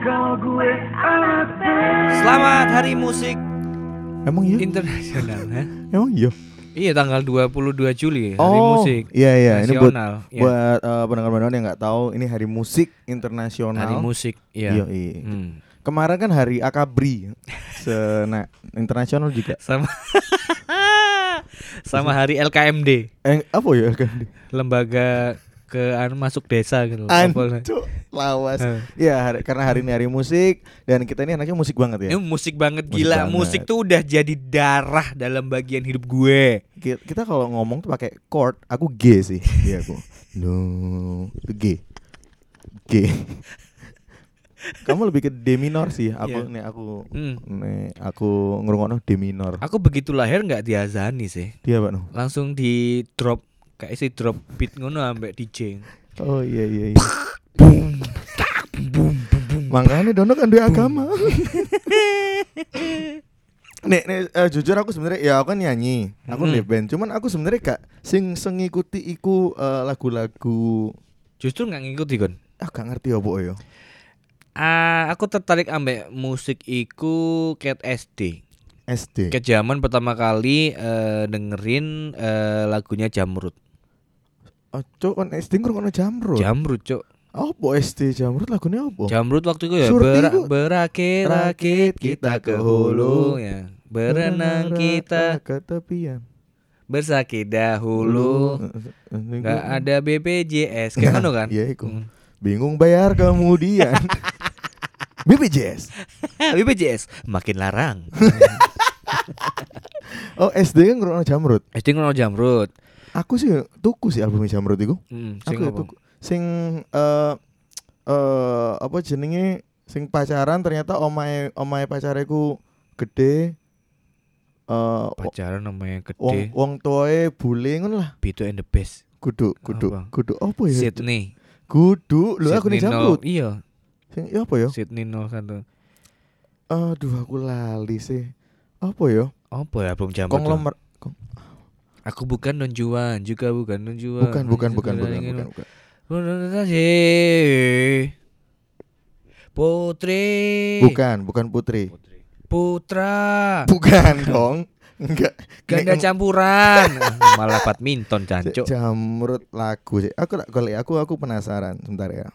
kalau gue anak Selamat Hari Musik Emang iya? Internasional. Emang iya? Iya, tanggal 22 Juli Hari Musik Iya ini buat Nasional. Iya. buat pendengar-pendengar yang nggak tahu, ini Hari Musik Internasional. Hari Musik, iya. Iya. Hmm. Kemarin kan Hari Akabri, internasional juga. Sama Hari LKMD, Apa ya kan? lembaga masuk desa gitu. Apa? Anco, lawas. Eh. Ya, karena hari ini Hari Musik dan kita ini anaknya musik banget ya. Ini musik banget, Musik gila. banget. Musik tuh udah jadi darah dalam bagian hidup gue. Kita kalau ngomong tuh pakai chord, aku G sih. Iya aku. No, itu G. Kamu lebih ke D minor sih. Aku Iya. aku ngerungokno D minor. Aku begitu lahir nggak diazani sih, Dia Pak no. langsung di drop kayak si drop beat ngono ambek DJ. Oh iya. Makanya Dono kan dia agama. Nek, jujur aku sebenarnya ya aku kan nyanyi, aku di band. Cuman aku sebenarnya gak ngikuti iku lagu-lagu. Justru nggak ngikuti kon. Gak ngerti apa ya. Aku tertarik ambek musik iku ket SD. Ket zaman pertama kali dengerin lagunya Jamrud. Cuk kan SD ngrungokno Jamrud. Jamrud, Cuk. Apa SD Jamrud lagunya apa? Jamrud waktu itu ya Surti ku. berakit-rakit kita ke hulu ya. Berenang kita ke tepian. bersakit dahulu. Gak ada BPJS kayak mana kan? Iya iku. Bingung bayar kemudian. BPJS. BPJS makin larang. Oh SD kan ngrungokno Jamrud. SD ngono Jamrud. Aku sih tuku sih album Jamrud iku. Sing Aku apa? tuku. Sing apa jenenge sing pacaran ternyata omahe pacareku gede. Pacaran namanya gede. Wong tuae bule ngono lah. Bitu and the Best. Kudu apa ya? Sydney. Kudu lho aku nih Jamrud. Iya. Sing ya apa ya? Sydney 01. Aduh aku lali sih. Apa ya? Apa ya belum Jamrud? Konglomer. Aku bukan Don Juan, juga bukan Don Juan. Bukan. Putri. Bukan Putri. Putra. Bukan dong. Enggak. Ganda campuran. Malah badminton jancuk. Jamrud lagu sih. Aku penasaran sebentar ya.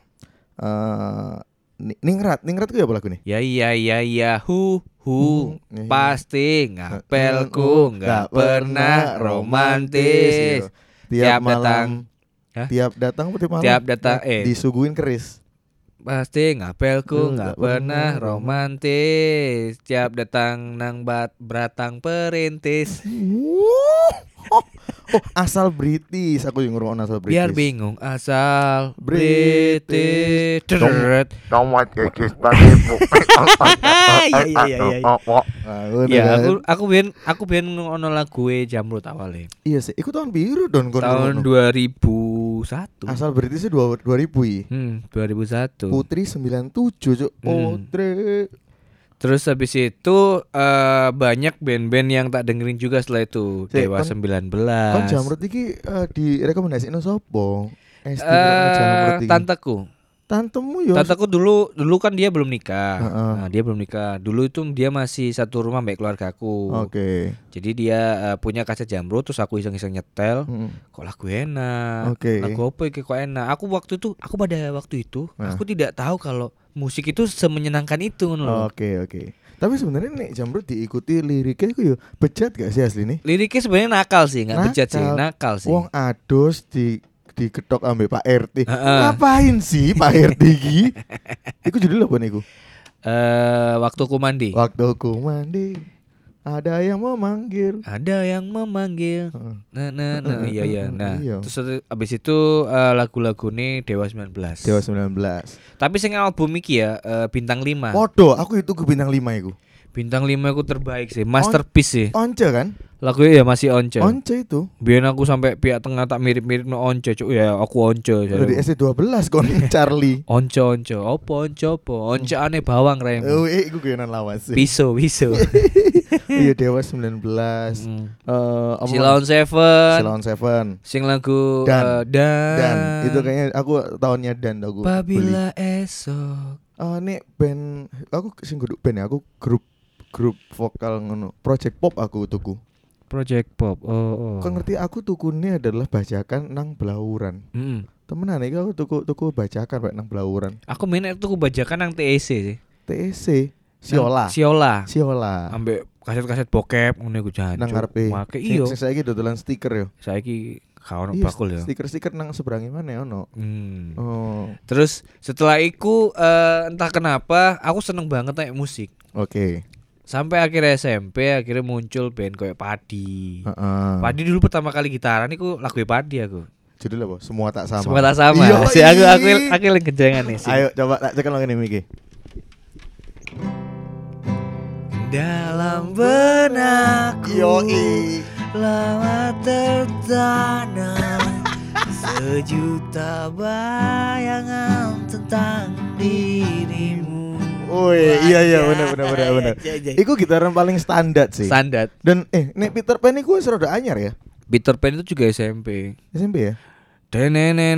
Ningrat ku ya apa lagu nih? Ya hu pasti ngapelku nggak pernah romantis. Tiap datang disuguhin keris. Pasti ngapelku nggak pernah romantis. Tiap datang nang beratang perintis. Oh, asal British. Aku yang ngurung asal British. Biar bingung asal British. Iya, aku ben ngono lagu Jamrud awalnya. Iya sih, iku tahun biru don kon. Tahun 2001. Asal British 2000 i. 2001. Putri 97, Cuk. Putri. Terus habis itu banyak band-band yang tak dengerin juga setelah itu. Dewa 19. Kon Jamrud iki direkomendasino sapa? Jamrud iki. Tantemu ya. Tanteku dulu kan dia belum nikah. Nah, dia belum nikah. Dulu itu dia masih satu rumah sama keluargaku. Oke. Jadi dia punya kaset Jamrud, terus aku iseng-iseng nyetel. Kok lagu enak. Oke. Lagu apa iki kok enak. Aku pada waktu itu aku tidak tahu kalau musik itu semenyenangkan itu ngono. Oke. Tapi sebenarnya nih Jamrud diikuti liriknya itu ya bejat gak sih asli nih? Liriknya sebenarnya nakal sih, enggak bejat sih, nakal sih. Wong ados diketok ambek Pak RT. Ngapain sih Pak RT iki? Iku judul apa niku? Waktuku mandi. Ada yang memanggil. Iya. Nah, terus abis itu lagu-lagu nih Dewa 19. Tapi sing album iki ya Bintang 5. Podo, aku itu ke Bintang 5 iku. Bintang 5 aku terbaik sih, masterpiece sih. Once kan? Lagunya ya masih Once. Once itu. Biar aku sampai pihak tengah tak mirip-mirip no Once, cuk. Ya aku Once. Dari SD12 kon Charlie. Once. Once aneh bawang rem. Oh, iku kenan lawas sih. Piso. Iya Dewa 19. Silon Seven. Sing lagu Dan. Itu kayaknya aku tahunnya Dan aku. Apabila esok Nek band aku sing kudu band ya, aku grup vokal ngono. Project Pop aku tuku. Project Pop. Oh. Kau ngerti aku tukune adalah bajakan nang Blauran. Temenan iki aku tuku bajakan Pak nang Blauran. Aku minat tuku bajakan nang TEC sih. TEC Siola. Ambek kaset-kaset bokep ngono iku jan. Nang ngarepe. Iya. Saiki dodolan stiker yo. Saiki gak ono bakul ya. Stiker nang seberangi mana ono. Oh. Terus setelah iku entah kenapa aku seneng banget naik musik. Oke. Sampai akhirnya SMP akhirnya muncul band kayak Padi. Padi dulu pertama kali gitaran iku lagu Padi aku. Judulnya apa? Semua tak sama. Semua tak sama. Si aku lagi kejengan nih sih. Ayo coba tak cekel ngene iki. Dalam benakku Yoi. lama tertanam sejuta bayangan tentang dirimu. Iya bener. Iku gitaran paling standar sih. Standar. Dan nek Peter Pan iku wis rada anyar ya. Peter Pan itu juga SMP. SMP ya? Deng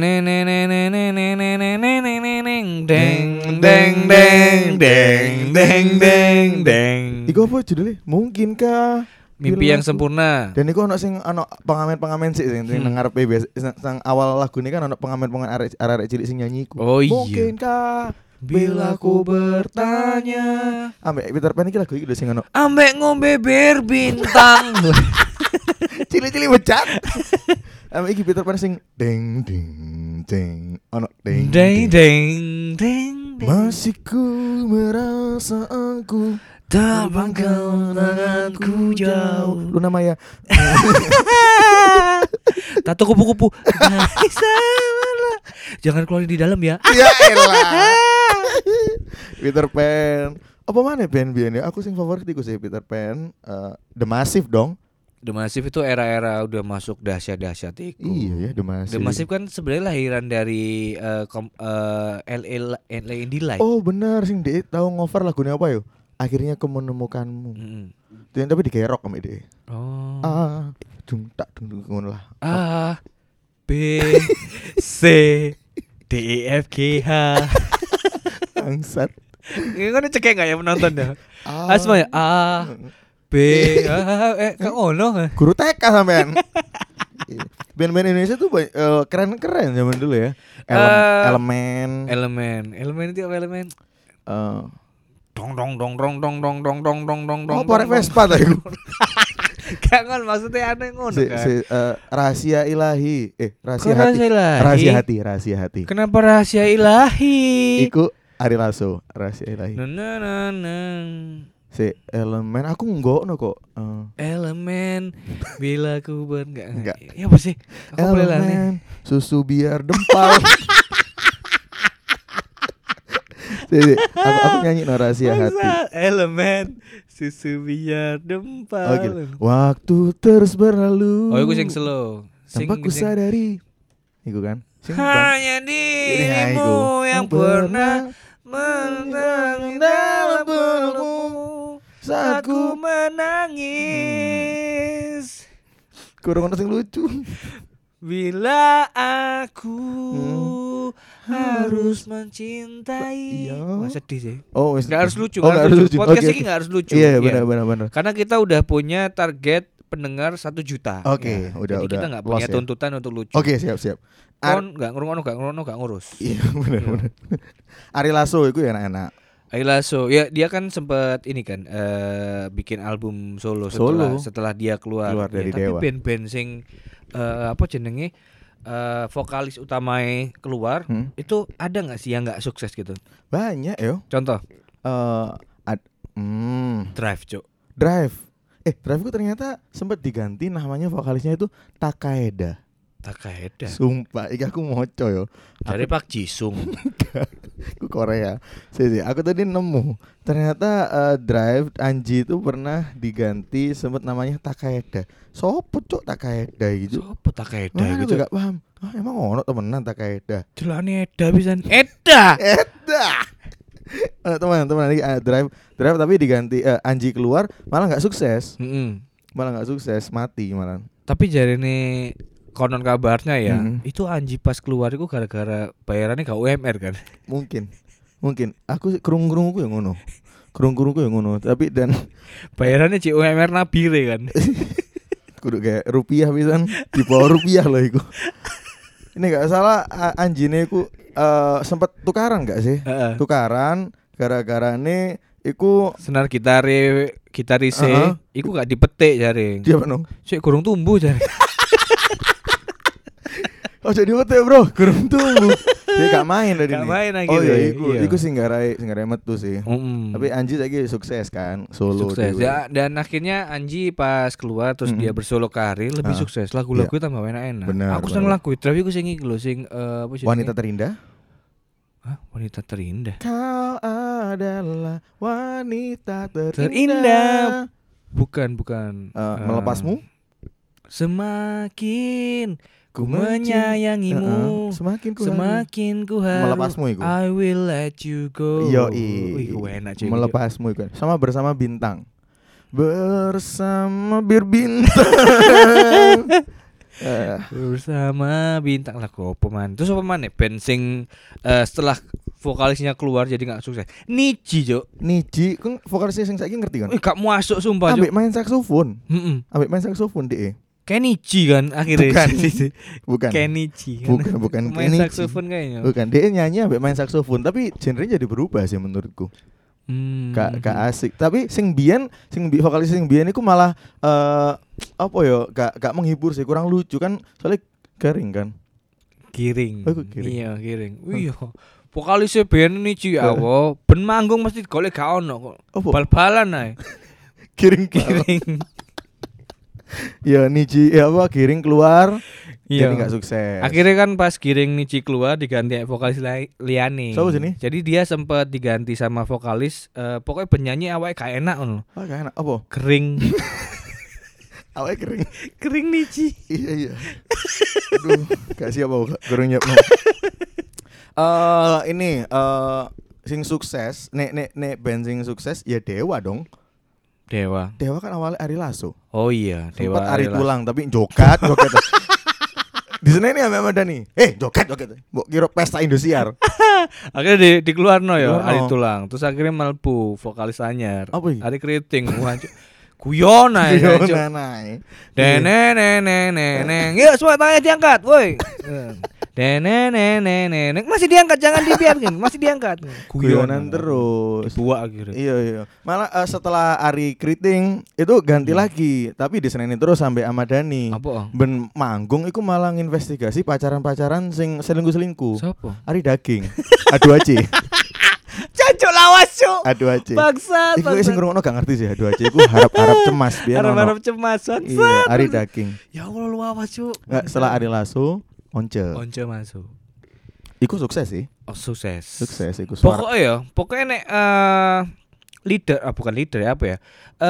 Iku apa judulnya? Mungkinkah Mimpi yang Sempurna. Dan iku ono sing pengamen sih sing nang ngarepe sang awal lagu ini kan ono pengamen arek cilik sing nyanyi iku. Oh iya. Mungkinkah bila ku bertanya. Ambek Peter Pan iki lagu iki lho sing ono. Ambek ngombe bir bintang. Cilik-cilik becat. Ambek iki Peter Pan sing deng ono deng. Masih ku merasa aku terbangkan tanganku jauh. Lu nama ya. Tato kupu-kupu. Jangan keluar di dalam ya. Ya elah. Peter Pan. Apa mana band-band ya? Aku sing favorit iku sih Peter Pan, The Massive dong. The Massive itu era-era udah masuk dahsyat-dahsyat iku. Iya ya, The Massive. The Massive kan sebenarnya lahiran dari LA Indie Light. Oh benar, sing dia tahu ngover lagunya apa yo? Akhirnya aku menemukanmu. Tapi digerok sama dia. Oh. Dung ngono lah. A B C D E F G H. Bangsat. Ini kan cekek enggak ya penonton ya? Semuanya A B kan ono. Guru TK sampean. Band-band Indonesia tuh keren-keren zaman dulu ya. Elemen itu apa elemen? Dong. Oh, Porek Vespa ta iku. Kangen maksudnya aneh ngono kan. Rahasia ilahi. Rahasia hati. Kenapa rahasia ilahi? Iku Ari Lasso, rahasia ilahi. Si elemen aku enggak kok. Elemen bila ku enggak. Ya apa sih? Aku elemen susu biar dempal. Jadi aku nyanyi no rahasia hati. Elemen susu biar dempal. Oke. Waktu terus berlalu. Oh, iku sing slow. Tanpa ku sadari. Iku kan. Hanya dirimu yang pernah menang dalam pelukmu saat ku menangis. Kurang ono sing lucu. Bila aku harus mencintai. Wah, sedih sih. Oh, enggak harus lucu. Enggak harus lucu. Podcast ini enggak harus lucu. Iya, benar. Karena kita udah punya target pendengar 1 juta. Oke, udah. Kita enggak punya tuntutan untuk lucu. Oke, siap. Kon enggak ngurung enggak ngurus. Iya, benar. Ari Lasso itu ya enak-enak. Ari Lasso, ya dia kan sempat ini kan bikin album solo setelah dia keluar dari Dewa. Tapi band-band sing apa jenenge vokalis utamanya keluar itu ada nggak sih yang nggak sukses gitu? Banyak yo. Contoh? Drive, Cuk. Drive itu ternyata sempat diganti namanya vokalisnya itu Takeda. Sumpah, aku moco yo. Dari Pak Jisung. Aku Korea. Sih, aku tadi nemu. Ternyata Drive Anji itu pernah diganti sempat namanya Takeda. Sopo Cuk Takeda gitu. Sopo Takeda gitu. Enggak paham. Emang ono temenan Takeda. Jelane Eda pisan. Eda. Teman-teman lagi Drive tapi diganti Anji keluar malah enggak sukses. Mati malah. Tapi jarine konon kabarnya ya, itu Anji pas keluar itu gara-gara bayarannya gak UMR kan? Mungkin. Mungkin aku kerung-kerungku yang ngono. Kerung-kerungku yang ngono, tapi dan bayarannya UMR nabire kan. kudu kayak rupiah pisan, di bawah rupiah loh iku. Ini gak salah anjine iku sempat tukaran gak sih? Tukaran gara-gara nih iku senar gitarise iku gak dipetik jare. Dia apa Sik kurang tumbuh jare. Oh jadi dipetik bro, kurang tumbuh. Dia gak main tadi nih. Gak main lagi. Oh iya iku sing garai metu sih. Tapi Anji lagi sukses kan, solo sukses ya, dan akhirnya Anji pas keluar terus dia bersolo karir lebih sukses. Lagu-lagu tambah enak-enak. Aku seneng lagu Drive iku sing iki lho sing apa sih? Wanita Terindah. Hah? Wanita Terindah. Kau adalah wanita terindah. Bukan. Melepasmu? Semakin ku menyayangimu, semakin ku harus melepasmu iku. I will let you go. Iku enak cuy. Melepasmu iku. Sama Bersama Bintang. Bersama bintang. Bersama Bintang lagu apa man? Terus apa man? Band sing setelah vokalisnya keluar jadi gak sukses. Niji kan vokalisnya sing saiki ngerti kan? Gak masuk sumpah. Ambek main saksofon. Ambek main saksofon deh. Kenichi kan akhirnya. Bukan. Kenichi kan. Bukan main Kenichi. saksofon kayaknya. Bukan, dia nyanyi ambek main saksofon tapi genrenya jadi berubah sih menurutku. Gak asik. Tapi vokalis sing biyen iku malah apa ya? Gak menghibur sih, kurang lucu kan soalnya garing kan. Giring. Iya, giring. Iya. Vokalisnya band Niji awo, ben manggung mesti golek gak ono kok. Bal-balan ae. Giring. Ya Niji Giring keluar jadi gak sukses. Akhirnya kan pas Giring Niji keluar diganti vokalis liane. Jadi dia sempat diganti sama vokalis pokoknya penyanyi awake gak enak ngono. Gak enak apa? Kering. Awake kering. Kering Niji. Iya. Aduh, gak siap aku kurang nyiap. Sing sukses, nek band sing sukses ya Dewa dong. Dewa kan awalnya Ari Lasso. Oh iya, Dewa. Sempat Ari Tulang tapi joget. Di sana ini sama Dani. Joget. Mbok kira pesta Indosiar. Akhirnya dikeluarno ya Ari Tulang. Terus akhirnya mlebu vokalis anyar. Ari Kriting. Guyon ae. Neneng. Yuk semua tangannya diangkat, woi. Neneng. Masih diangkat, jangan dibiarkan. Masih diangkat. Guyonan terus. Dibuat akhirnya. Iya. Malah setelah Ari Kriting itu ganti lagi, tapi diseneni terus sampai Amadani. Apa? Ben manggung iku malah nginvestigasi pacaran-pacaran sing selingkuh-selingkuh. Siapa? Ari Daging. Aduh aci. Cancuk lawas cuk. Aduh aci. Bangsat. Iku sing ngrungokno gak ngerti sih aduh aci iku harap-harap cemas biar ono. Harap-harap cemas. Iya, Ari Daging. Ya Allah lawas cuk. Setelah Ari Lasso Once masuk. Iku sukses sih. Oh, sukses iku. Pokoknya nek leader, bukan leader ya apa ya?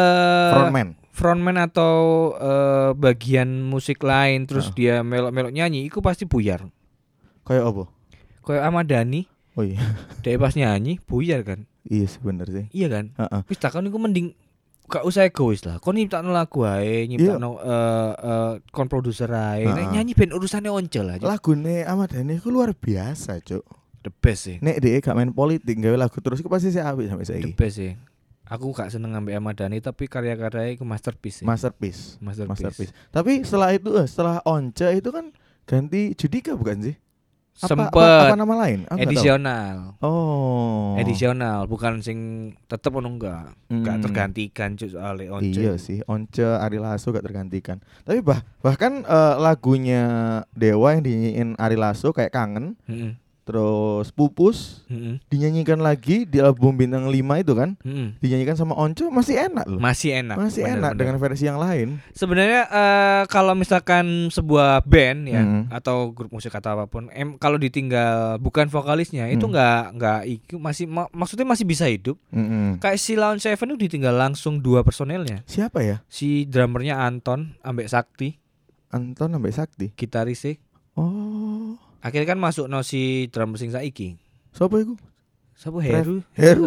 Frontman atau bagian musik lain terus dia melok-melok nyanyi iku pasti buyar. Kayak apa? Kayak Ahmad Dhani. Oh iya. Dia pas nyanyi buyar kan? Iya sebener sih. Iya kan? Wis takon iku mending gak usah egois lah. Kon nyiptakno lagu ae, nyiptakno kon produser ae. Nek nyanyi ben urusane Once lah. Lagune Ahmad Dhani iku luar biasa, Cuk. The best sih. Nek dhek gak main politik gawe lagu terus iku pasti sih apik sampai saiki. The best sih. Aku gak seneng ambek Ahmad Dhani tapi karya-karyanya iku masterpiece. Masterpiece. Tapi setelah itu setelah Once itu kan ganti Judika bukan sih? Apa nama lain? Edisional. Oh. Edisional, bukan sing tetep ono enggak tergantikan cuk soalnya Once. Iya sih, Once Ari Lasso gak tergantikan. Tapi bahkan lagunya Dewa yang dinyanyiin Ari Lasso kayak Kangen. Terus Pupus dinyanyikan lagi di album Bintang 5 itu kan. Dinyanyikan sama Once masih enak loh. Masih enak dengan versi yang lain. Sebenarnya kalau misalkan sebuah band ya atau grup musik atau apapun kalau ditinggal bukan vokalisnya itu enggak maksudnya masih bisa hidup. Kayak si Lawn Seven itu ditinggal langsung 2 personelnya. Siapa ya? Si drummernya Anton ambek Sakti. Gitaris sih. Oh. Akhirnya kan masuk si drummer sing saiki. Sopo iku? Sopo Heru.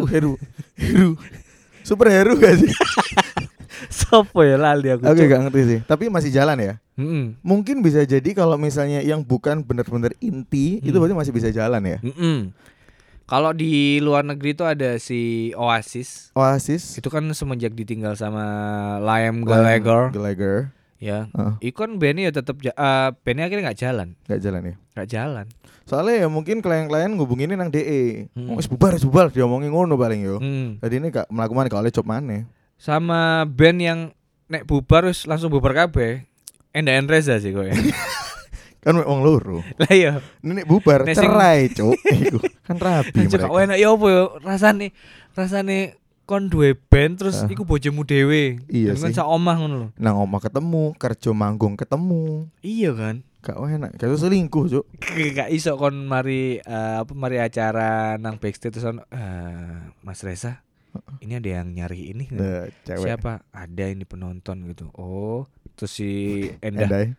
Superhero gak sih? Sopo ya lali aku. Oke, gak ngerti sih. Tapi masih jalan ya. Mungkin bisa jadi kalau misalnya yang bukan benar-benar inti itu berarti masih bisa jalan ya. Kalau di luar negeri itu ada si Oasis. Oasis. Itu kan semenjak ditinggal sama Liam Gallagher. Ya. Itu kan bandnya ya tetap bandnya akhirnya nggak jalan. Nggak jalan ya. Nggak jalan. Soalnya ya mungkin klien-klien ngubunginin nang DE. Wis bubar diomongin ngono paling yo. Jadi ini gak melakukan gak oleh job maneh. Sama band yang nek bubar wis langsung bubar kabeh. Enda Reza sih kowe. Kan wong loro. Lah iya. Nek bubar cerai, Cuk. Iku kan rabi mereka. Kok enak ya apa ya rasane kon duwe band terus iku bojomu dhewe. Iya sih. Kan sak omah ngono lho. Nang omah ketemu, kerja manggung ketemu. Iya kan? Gak enak, gak selingkuh, Cuk. Gak iso kon mari acara nang backstage terus Mas Reza. Ini ada yang nyari ini. Cewek. Siapa? Ada ini penonton gitu. Oh, terus si Endah.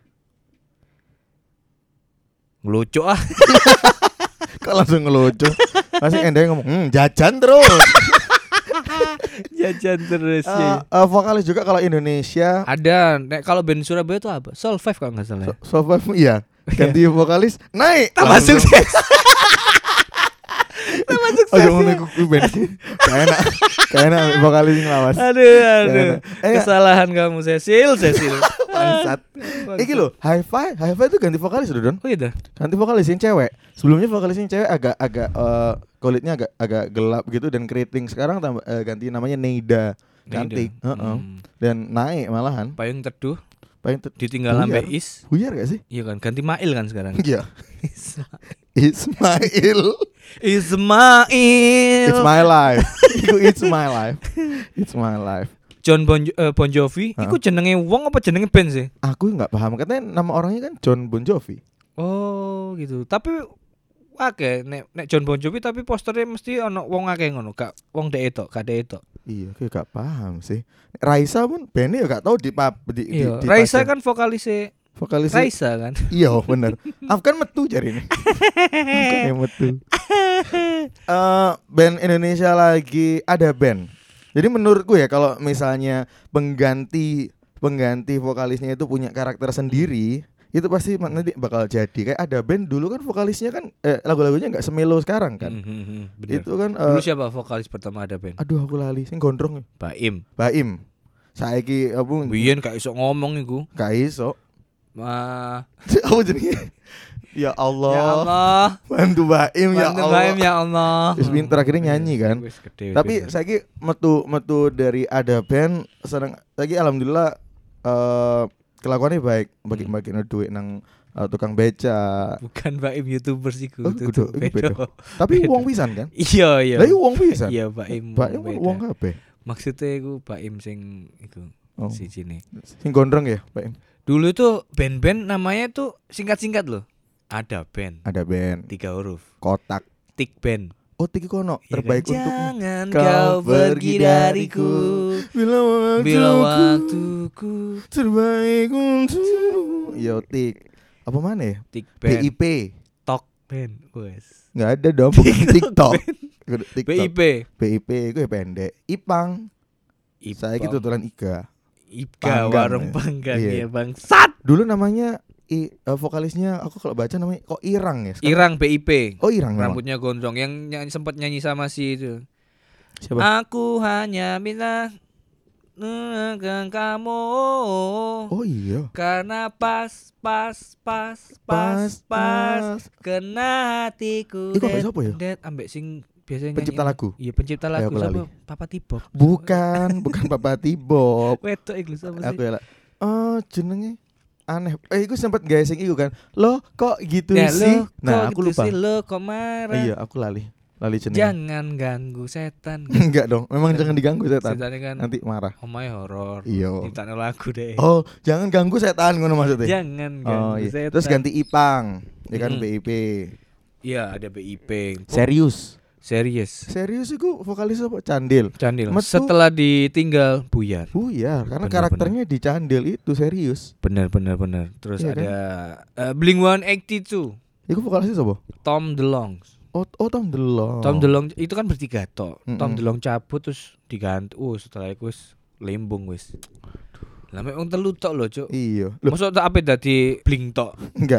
Ngelucu ah. Kok langsung ngelucu? Masih Endah ngomong, jajan terus. Jajan terus ya. Vokalis juga kalau Indonesia ada. Kalau band Surabaya itu apa? Soul 5 kalau nggak salah. Soul 5 iya. Ganti vokalis naik. Tambah sukses. Tambah sukses. Aduh ngono iku band. Kayak enak vokalis nglawas. Aduh. Kesalahan kamu Cecil. Bangsat. Iki lho, Hi-Fi itu ganti vokalis lho, Don. Oh iya. Ganti vokalis yang cewek. Sebelumnya vokalis yang cewek agak kulitnya agak gelap gitu dan keriting. Sekarang ganti namanya Neida. Cantik. Dan naik malahan. Payung Teduh. Ditinggal sampai Is. Buyar gak sih? Iya kan, ganti Mail kan sekarang. Iya. Ismail. It's my life. It's my life. It's my life. John Bon Jovi, iku jenenge wong apa jenenge band sih? Aku nggak paham. Katanya nama orangnya kan John Bon Jovi. Oh gitu. Tapi nek John Bon Jovi tapi posternya mesti ono wong akeh ngono, gak wong dek tok, gak dek tok. Iya, aku gak paham sih. Raisa pun bandnya ya gak tahu di Raisa kan vokalisnya Raisa kan. Iya bener. Afgan metu jari ini. Afgan yang metu. Band Indonesia lagi ada band. Jadi menurutku ya kalau misalnya pengganti vokalisnya itu punya karakter sendiri, itu pasti nanti bakal jadi. Kayak ada band dulu kan vokalisnya kan lagu-lagunya nggak semelo sekarang kan. Itu kan dulu siapa vokalis pertama ada band? Aduh aku lali sing gondrong. Baim. Saiki apa? Biyen gak iso ngomong iku. Gak iso. Apa jenenge? Ya Allah. Ya Allah. Bantu Baim ya Allah. Baim ya Allah. Wis pinter akhirnya nyanyi kan. Tapi saiki metu dari ada band seneng lagi alhamdulillah kelakuannya baik bagi-bagi duit nang tukang beca. Bukan Baim YouTuber sih ku. Tapi uang pisan kan? Iya. Lah uang pisan. Iya Baim. Baim uang kabeh. Maksudnya iku Baim sing iku si sini. Sing gondrong ya, Baim. Dulu tuh band-band namanya tuh singkat-singkat loh. Ada band 3 huruf. Kotak. Tik band. Oh Tiki Kono terbaik untukmu. Jangan kau pergi dariku bila waktuku terbaik untukmu. Yo Tik. Apa mana ya? Tik band. BIP. Tok band. Wes. Enggak ada dong bukan TikTok. BIP. BIP itu ya pendek. Ipang. Saya gitu tutulan Iga. Warung Panggang ya bangsat. Dulu namanya vokalisnya aku kalau baca namanya kok Irang ya. Irang BIP. Oh Irang memang. Rambutnya gondrong yang sempat nyanyi sama si itu. Siapa? Aku hanya minta dengan kamu. Oh iya. Karena pas kena hatiku. Iku siapa ya? Ambek sing biasanya pencipta nyanyi. lagu. Iya pencipta lagu siapa? Papa Tibob. Bukan Papa Tibob. Wedok iku sapa sih? Aku ya. Oh jenenge aneh. Iku sempat guys iku kan. Lo kok gitu ya, sih? Nah, aku lupa. Lo kok marah? Iya, aku lali jenenge. Jangan ganggu setan. Enggak dong. Memang jangan diganggu setan. Kan nanti marah. Omae horor. Iya. Nyiptakno lagu deh. Oh, jangan ganggu setan ngono maksudnya. Jangan ganggu setan. Terus ganti Ipang. Ya kan BIP. Iya, ada BIP. Serius iku vokalis apa? Candil. Setelah ditinggal Buyar. Karena karakternya di Candil itu serius. Benar. Terus iya, ada kan? Blink-182. Iku vokalisnya siapa? Tom DeLonge. Oh Tom DeLonge. Tom DeLonge itu kan bertiga tok. Tom DeLonge cabut terus diganti. Setelah itu wis lembung wis. Lah mek wong telu tok lho, Cuk. Iya. Mosok tak ape dadi Blink tok. Enggak.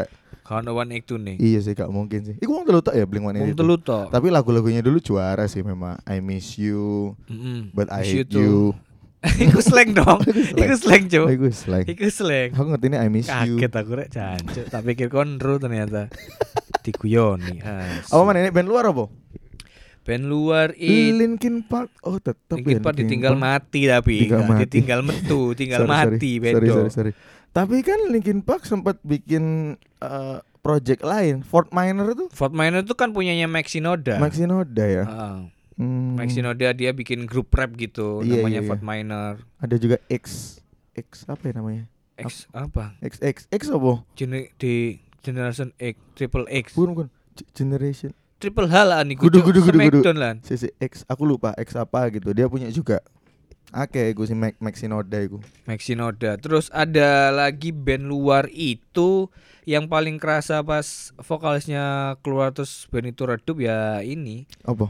Kalau One Act nih. Iya sih gak mungkin sih. Iku wong telu tok ya Blink-182. Wong telu tok. Tapi lagu-lagunya dulu juara sih memang. I Miss You, But I Hate You. Iku slang dong. Iku slang, Cuk. Iku slang. Aku ngerti ini I Miss You. Kaget aku rek jancuk. Tak pikir konro ternyata. Diguyoni. Apa mana ini band luar apa? Band luar Linkin Park. Oh tetep Linkin Park ditinggal mati tapi ditinggal metu, tinggal mati bedo. Sorry. Tapi kan Linkin Park sempat bikin project lain, Fort Minor itu. Fort Minor itu kan punyanya Mike Shinoda ya. Mike Shinoda dia bikin grup rap gitu, namanya Fort Minor. Ada juga X apa ya namanya? X apa? X apa? Di Generation X, Triple X. Bukan. Generation Triple H lah nih, Gudu. lah. X, aku lupa X apa gitu. Dia punya juga. Oke, gue si Mike Shinoda itu. Mike Shinoda. Terus ada lagi band luar itu yang paling kerasa pas vokalisnya keluar terus band itu redup ya ini. Apa?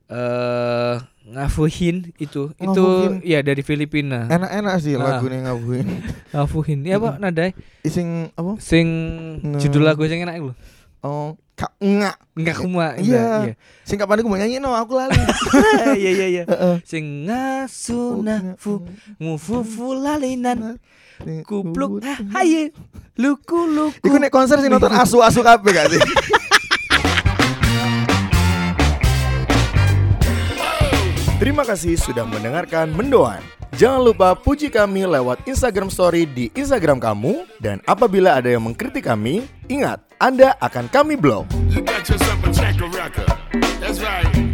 Ngafuhin itu ya dari Filipina. Enak-enak sih lagunya Ngafuhin. Ngafuhin. Ya apa nadai? Sing apa? Sing judul lagu sing enak lho. Oh, enggak kuma. Iya. Sing kapan aku mau nyanyi aku lali. Iya. Sing ngasunafu ngufufu lalinan. Kupluk haye luku. Iku nek konser sing nonton asu-asu kabeh gak sih? Terima kasih sudah mendengarkan Mendoan. Jangan lupa puji kami lewat Instagram Story di Instagram kamu. Dan apabila ada yang mengkritik kami, ingat, Anda akan kami blok. You got yourself a checker record. That's right.